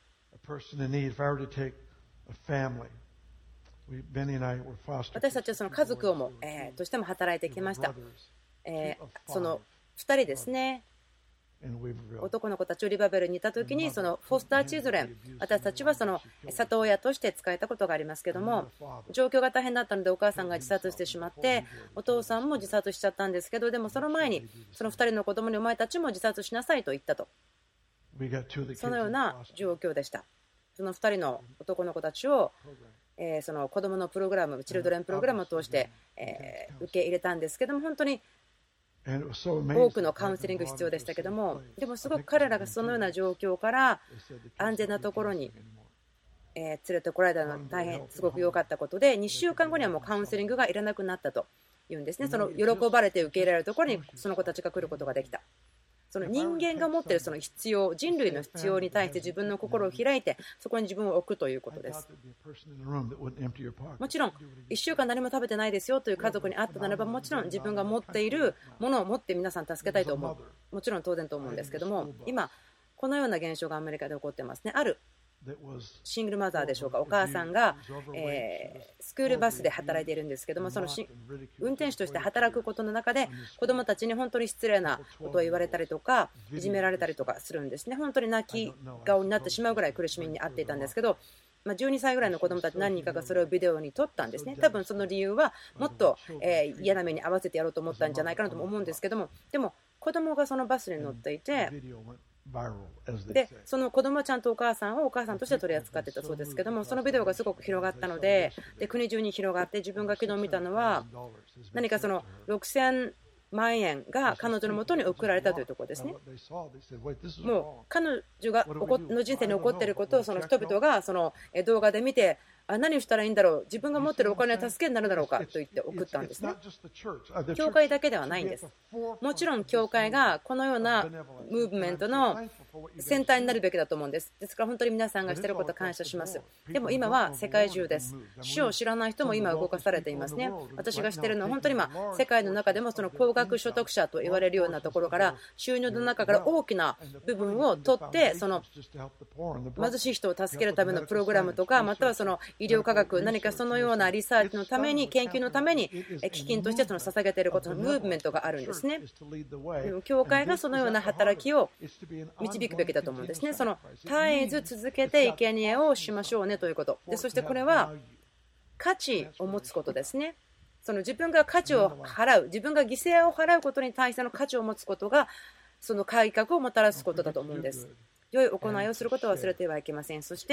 私たちはその家族をもとしても働いてきました。その2人ですね、男の子たちをリバベルにいたときに、そのフォスターチルドレン、私たちはその里親として使えたことがありますけども、状況が大変だったのでお母さんが自殺してしまって、お父さんも自殺しちゃったんですけど、でもその前にその2人の子供にお前たちも自殺しなさいと言ったと、そのような状況でした。その2人の男の子たちをその子供のプログラム、チルドレンプログラムを通して受け入れたんですけども、本当に多くのカウンセリング必要でしたけども、でもすごく彼らがそのような状況から安全なところに連れてこられたのは大変すごく良かったことで、2週間後にはもうカウンセリングがいらなくなったというんですね。その喜ばれて受け入れられるところにその子たちが来ることができた。その人間が持っているその必要、人類の必要に対して自分の心を開いて、そこに自分を置くということです。もちろん1週間何も食べてないですよという家族に会ったならば、もちろん自分が持っているものを持って皆さん助けたいと思う、もちろん当然と思うんですけども、今このような現象がアメリカで起こってますね。あるシングルマザーでしょうか、お母さんがスクールバスで働いているんですけども、その運転手として働くことの中で子どもたちに本当に失礼なことを言われたりとか、いじめられたりとかするんですね。本当に泣き顔になってしまうぐらい苦しみに遭っていたんですけど、12歳ぐらいの子どもたち何人かがそれをビデオに撮ったんですね。多分その理由はもっと嫌な目に合わせてやろうと思ったんじゃないかなとも思うんですけども、でも子どもがそのバスに乗っていて、でその子供はちゃんとお母さんをお母さんとして取り扱っていたそうですけども、そのビデオがすごく広がったので、国中に広がって、自分が昨日見たのは何かその6000万円が彼女のもとに送られたというところですね。もう彼女がの人生に起こっていることをその人々がその動画で見て、何をしたらいいんだろう、自分が持っているお金は助けになるだろうかと言って送ったんですね。教会だけではないんです。もちろん教会がこのようなムーブメントの先端になるべきだと思うんです。ですから本当に皆さんがしていることを感謝します。でも今は世界中です。主を知らない人も今動かされていますね。私が知っているのは本当に今世界の中でもその高額所得者と言われるようなところから収入の中から大きな部分を取って、その貧しい人を助けるためのプログラムとか、またはその医療科学、何かそのようなリサーチのために、研究のために基金としてその捧げていることのムーブメントがあるんですね。教会がそのような働きを導くべきだと思うんですね。その絶えず続けて生贄をしましょうねということで、そしてこれは価値を持つことですね。その自分が価値を払う、自分が犠牲を払うことに対しての価値を持つことがその改革をもたらすことだと思うんです。良い行いをすることを忘れてはいけません。そして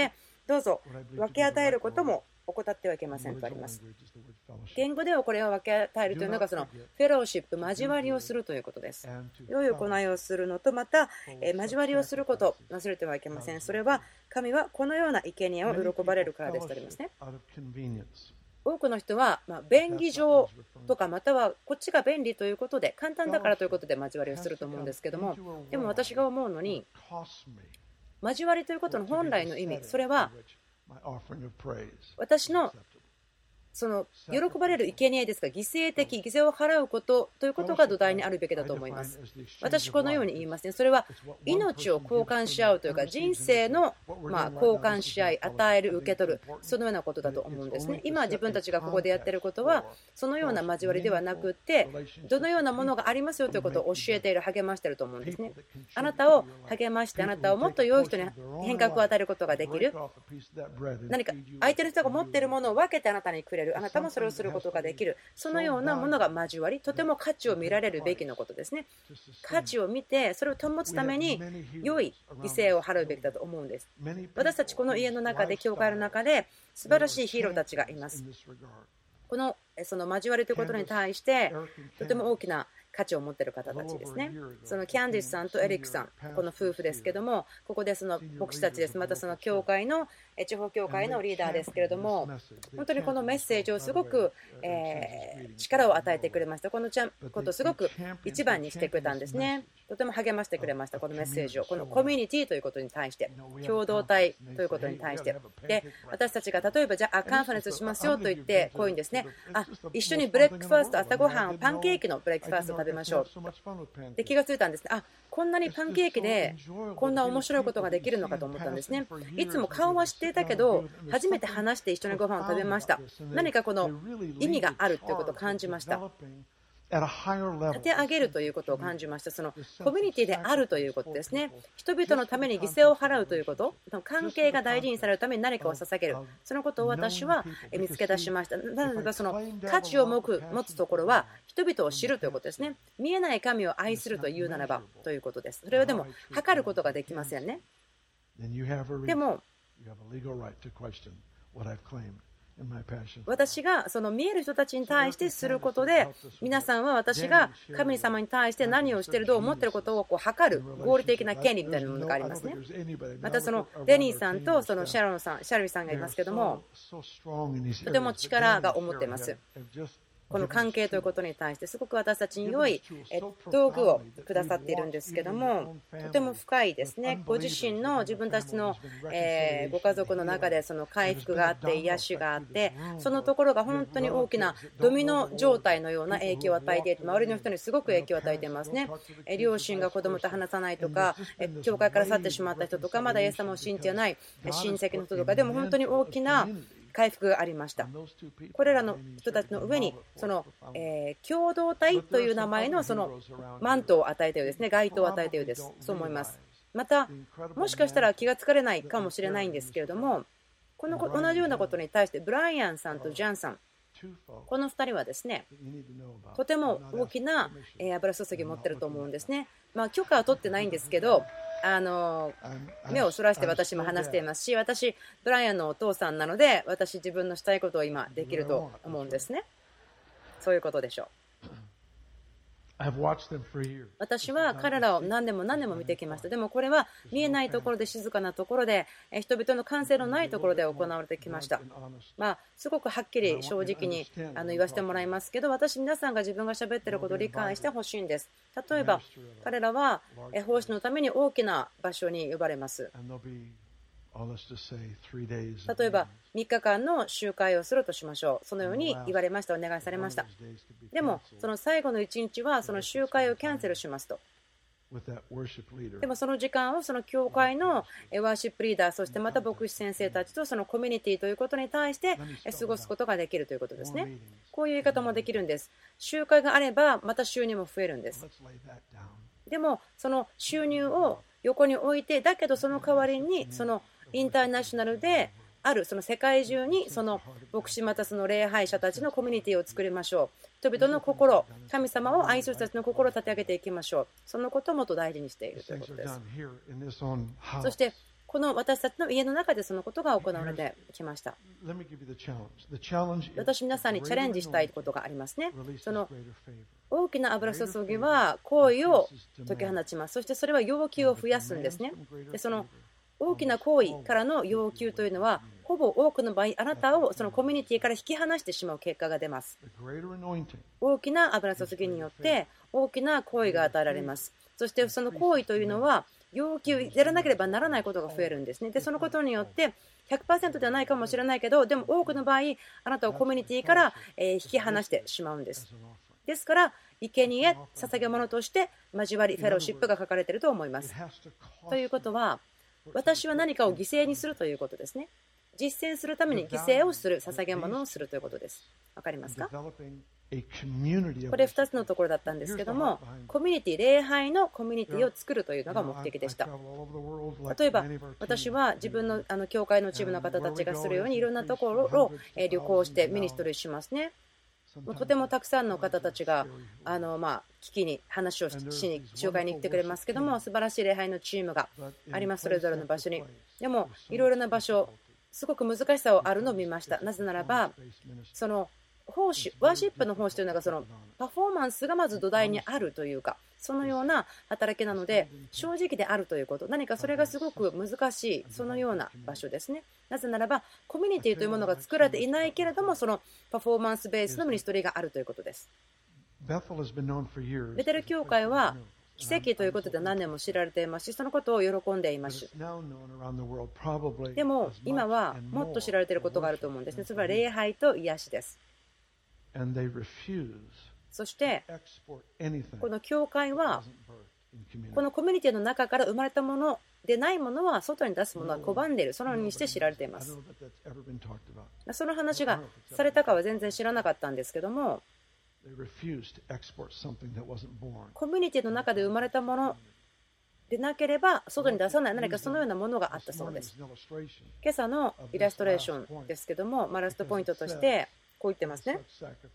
どうぞ分け与えることも怠ってはいけませんとあります。言語ではこれを分け与えるというのがそのフェローシップ、交わりをするということです。良い行いをするのと、また交わりをすること、忘れてはいけません。それは神はこのような生贄を喜ばれるからですとありますね。多くの人は便宜上とか、またはこっちが便利ということで、簡単だからということで交わりをすると思うんですけども、でも私が思うのに、交わりということの本来の意味、それは私のその喜ばれる生贄ですが、犠牲的、犠牲を払うことということが土台にあるべきだと思います。私、このように言いますね。それは命を交換し合うというか、人生の交換し合い、与える、受け取る、そのようなことだと思うんですね。今、自分たちがここでやっていることは、そのような交わりではなくて、どのようなものがありますよということを教えている、励ましていると思うんですね。あなたを励まして、あなたをもっと良い人に変革を与えることができる。何か相手の人が持っているものを分けてあなたにくれる。あなたもそれをすることができる。そのようなものが交わり、とても価値を見られるべきのことですね。価値を見て、それを保つために良い犠牲を払うべきだと思うんです。私たちこの家の中で、教会の中で素晴らしいヒーローたちがいます。その交わりということに対してとても大きな価値を持っている方たちですね。そのキャンディスさんとエリックさん、この夫婦ですけども、ここでその牧師たちです。またその教会の地方教会のリーダーですけれども、本当にこのメッセージをすごく力を与えてくれました。このことをすごく一番にしてくれたんですね。とても励ましてくれました。このメッセージを、このコミュニティということに対して、共同体ということに対して。で、私たちが例えばじゃあカンファレンスしますよと言って、こういうんですね。一緒にブレックファースト、朝ごはんをパンケーキのブレックファーストを食べましょう。で、気がついたんですね。こんなにパンケーキでこんな面白いことができるのかと思ったんですね。いつも顔は知っていたけど、初めて話して一緒にご飯を食べました。何かこの意味があるということを感じました。立て上げるということを感じました。そのコミュニティであるということですね。人々のために犠牲を払うということ、関係が大事にされるために何かを捧げる、そのことを私は見つけ出しました。なので、その価値を持つところは人々を知るということですね。見えない神を愛するというならばということです。それはでも測ることができませんね。でも私がその見える人たちに対してすることで、皆さんは私が神様に対して何をしている、どう思っていることを測る合理的な権利みたいなものがありますね。またそのデニーさんとそのシャルウィさんがいますけども、とても力が思っています。この関係ということに対してすごく私たちに良い道具をくださっているんですけども、とても深いですね。ご自身の自分たちのご家族の中でその回復があって癒しがあって、そのところが本当に大きなドミノ状態のような影響を与えていて、周りの人にすごく影響を与えていますね。両親が子供と話さないとか、教会から去ってしまった人とか、まだイエス様を信じてない親戚の人とかでも本当に大きな回復がありました。これらの人たちの上にその共同体という名前のそのマントを与えたようですね。街灯を与えたようです。そう思います。またもしかしたら気がつかれないかもしれないんですけれども、この同じようなことに対してブライアンさんとジャンさん、この2人はですね、とても大きな油注ぎを持っていると思うんですね。許可は取ってないんですけど、目をそらして私も話していますし、私ブライアンのお父さんなので、私自分のしたいことを今できると思うんですね。そういうことでしょう。私は彼らを何年も見てきました。でもこれは見えないところで、静かなところで、人々の感性のないところで行われてきました。すごくはっきり正直に言わせてもらいますけど、皆さんが自分が喋っていることを理解してほしいんです。例えば彼らは奉仕のために大きな場所に呼ばれます。例えば3日間の集会をするとしましょう。そのように言われました。お願いされました。でもその最後の1日はその集会をキャンセルしますと。でもその時間をその教会のワーシップリーダー、そしてまた牧師先生たちとそのコミュニティということに対して過ごすことができるということですね。こういう言い方もできるんです。集会があればまた収入も増えるんです。でもその収入を横に置いて、だけどその代わりにそのインターナショナルであるその世界中にその牧師またその礼拝者たちのコミュニティを作りましょう。人々の心、神様を愛する人たちの心を立て上げていきましょう。そのことをもっと大事にしているということです。そしてこの私たちの家の中でそのことが行われてきました。私、皆さんにチャレンジしたいことがありますね。その大きな油注ぎは好意を解き放ちます。そしてそれは要求を増やすんですね。でその大きな行為からの要求というのは、ほぼ多くの場合、あなたをそのコミュニティから引き離してしまう結果が出ます。大きな油注ぎによって大きな行為が与えられます。そしてその行為というのは、要求、やらなければならないことが増えるんですね。で、そのことによって、100% ではないかもしれないけど、でも多くの場合、あなたをコミュニティから引き離してしまうんです。ですから、生贄、捧げ物として交わり、フェローシップが書かれていると思います。ということは、私は何かを犠牲にするということですね。実践するために犠牲をする、捧げ物をするということです。わかりますか？これ2つのところだったんですけども、コミュニティ、礼拝のコミュニティを作るというのが目的でした。例えば、私は自分の教会のチームの方たちがするように、いろんなところを旅行してミニストリーしますね。とてもたくさんの方たちが聞きに話をしに集会に来てくれますけども、素晴らしい礼拝のチームがあります、それぞれの場所に。でも、いろいろな場所、すごく難しさをあるのを見ました。なぜならば、その奉仕、ワーシップの奉仕というのが、そのパフォーマンスがまず土台にあるというか、そのような働きなので、正直であるということ、何かそれがすごく難しい、そのような場所ですね。なぜならば、コミュニティというものが作られていないけれども、そのパフォーマンスベースのミニストリーがあるということです。ベテル教会は奇跡ということで何年も知られていますし、そのことを喜んでいます。でも今はもっと知られていることがあると思うんですね。それは礼拝と癒しです。そしてこの教会はこのコミュニティの中から生まれたものでないものは外に出すものは拒んでいる、そのようにして知られています。その話がされたかは全然知らなかったんですけども、コミュニティの中で生まれたものでなければ外に出さない、何かそのようなものがあったそうです。今朝のイラストレーションですけども、ラストポイントとしてこう言ってますね。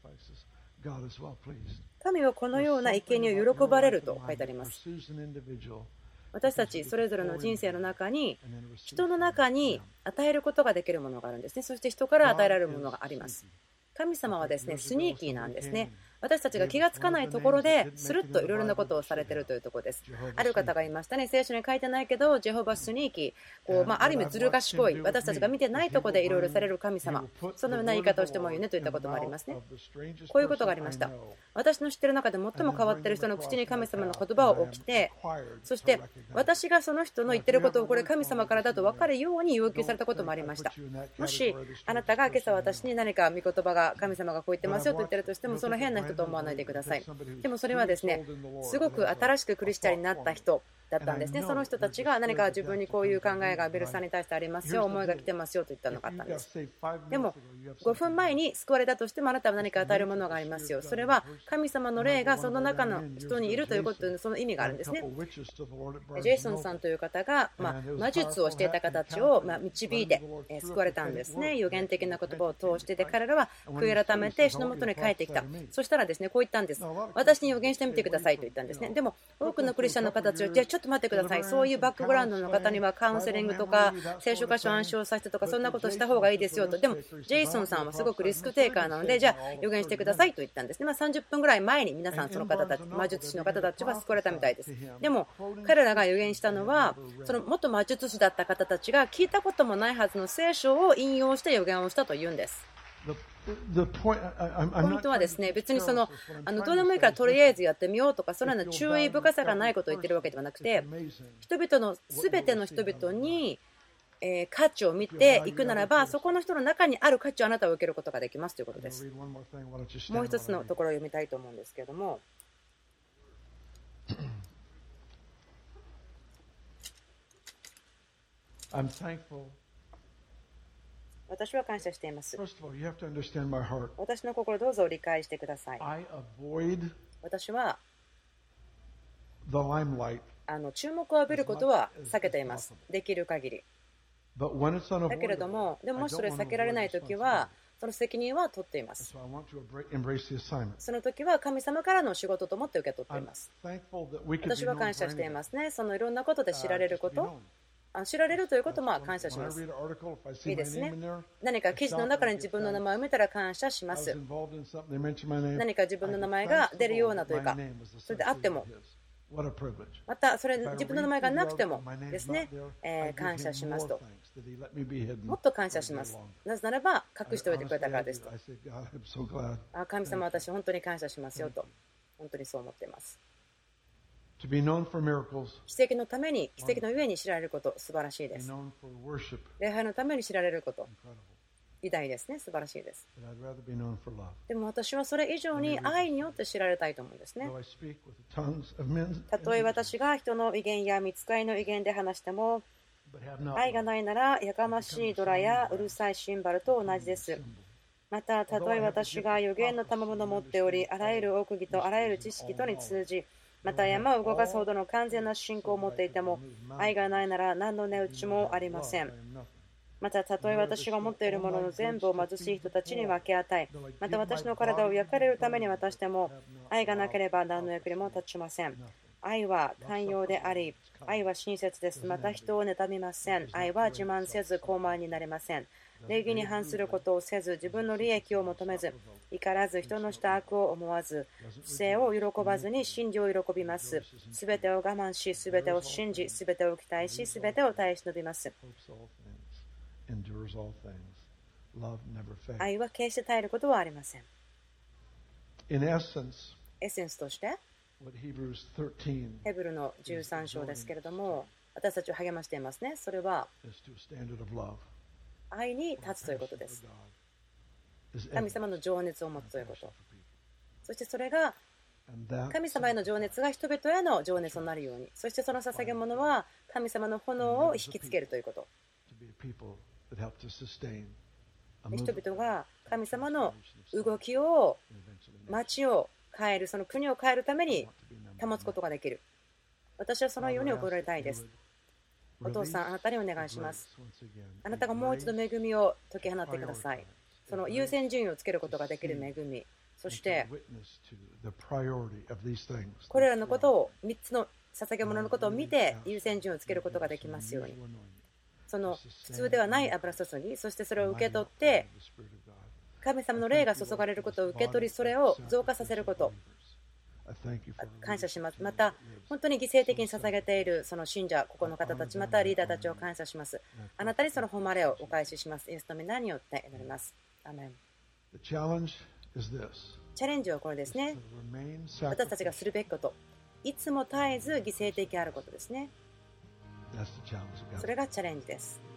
神はこのような生贄を喜ばれると書いてあります。私たちそれぞれの人生の中に、人の中に与えることができるものがあるんですね。そして人から与えられるものがあります。神様はですね、スニーキーなんですね。私たちが気がつかないところでスルッといろいろなことをされているというところです。ある方がいましたね。聖書に書いてないけど、ジェホバスニーキー、ある意味ずる賢い、私たちが見てないところでいろいろされる神様、そのような言い方をしてもいいねといったこともありますね。こういうことがありました。私の知っている中で最も変わっている人の口に神様の言葉を置きて、そして私がその人の言っていることをこれ神様からだと分かるように要求されたこともありました。もしあなたが今朝私に何か御言葉が神様がこう言ってますよと言っているとしても、その変な人と思わないでください。でもそれはですね、すごく新しくクリスチャンになった人だったんですね。その人たちが何か自分にこういう考えがベルさんに対してありますよ、思いが来てますよと言ったのがあったんです。でも5分前に救われたとしても、あなたは何か与えるものがありますよ。それは神様の霊がその中の人にいるということで、その意味があるんですね。ジェイソンさんという方が魔術をしていた方たちを導いて救われたんですね。予言的な言葉を通してで、彼らは悔い改めて主の元に帰ってきた。そしたらですね、こう言ったんです。私に予言してみてくださいと言ったんですね。でも多くのクリスチャンの方たちは、じゃあちょっと待ってください、そういうバックグラウンドの方にはカウンセリングとか聖書箇所を暗唱させてとか、そんなことした方がいいですよと。でもジェイソンさんはすごくリスクテイカーなので、じゃあ予言してくださいと言ったんですね。30分ぐらい前に皆さん、その方たち、魔術師の方たちは救われたみたいです。でも彼らが予言したのは、その元魔術師だった方たちが聞いたこともないはずの聖書を引用して予言をしたというんです。ポイントはですね、別にどうでもいいからとりあえずやってみようとか、そのような注意深さがないことを言ってるわけではなくて、人々の全ての人々に価値を見ていくならば、そこの人の中にある価値をあなたは受けることができますということです。もう一つのところを読みたいと思うんですけれども、私は感謝しています。私の心、どうぞ理解してください。私は注目を浴びることは避けています。できる限り。だけれども、でももしそれ避けられないときは、その責任は取っています。その時は神様からの仕事と思って受け取っています。私は感謝していますね。そのいろんなことで知られること。 知られるということも感謝します。いいですね。何か記事の中に自分の名前を見たら感謝します。何か自分の名前が出るようなというか、それであっても、またそれ自分の名前がなくてもですね、感謝しますと。もっと感謝します。なぜならば隠しておいてくれたからですと。神様、私本当に感謝しますよと。本当にそう思っています。奇跡のために、奇跡のゆえに知られること、素晴らしいです。礼拝のために知られること、偉大ですね、素晴らしいです。でも私はそれ以上に愛によって知られたいと思うんですね。たとえ私が人の威厳や御使いの威厳で話しても、愛がないならやかましいドラやうるさいシンバルと同じです。また、たとえ私が予言の賜物を持っており、あらゆる奥義とあらゆる知識とに通じ、また山を動かすほどの完全な信仰を持っていても、愛がないなら何の値打ちもありません。また、たとえ私が持っているものの全部を貧しい人たちに分け与え、また私の体を焼かれるために渡しても、愛がなければ何の役にも立ちません。愛は寛容であり、愛は親切です。また人を妬みません。愛は自慢せず高慢になれません。礼儀に反することをせず、自分の利益を求めず、怒らず、人のした悪を思わず、不正を喜ばずに真理を喜びます。すべてを我慢し、すべてを信じ、すべてを期待し、すべてを耐え忍びます。愛は決して絶えることはありません。エッセンスとして、ヘブルの13章ですけれども、私たちを励ましていますね。それは愛に立つということです。神様の情熱を持つということ。そしてそれが神様への情熱が人々への情熱となるように、そしてその捧げ物は神様の炎を引きつけるということ。人々が神様の動きを、町を変える、その国を変えるために保つことができる。私はそのように覚えられたいです。お父さん、あなたにお願いします。あなたがもう一度恵みを解き放ってください。その優先順位をつけることができる恵み、そしてこれらのことを、3つの捧げ物のことを見て優先順位をつけることができますように。その普通ではない油注ぎ、そしてそれを受け取って、神様の霊が注がれることを受け取り、それを増加させること。感謝します。また、本当に犠牲的に捧げているその信者、ここの方たち、またリーダーたちを感謝します。あなたにその誉れをお返しします。イエスの皆によって祈ります。アメン。チャレンジはこれですね。私たちがするべきこと。いつも絶えず犠牲的であることですね。それがチャレンジです。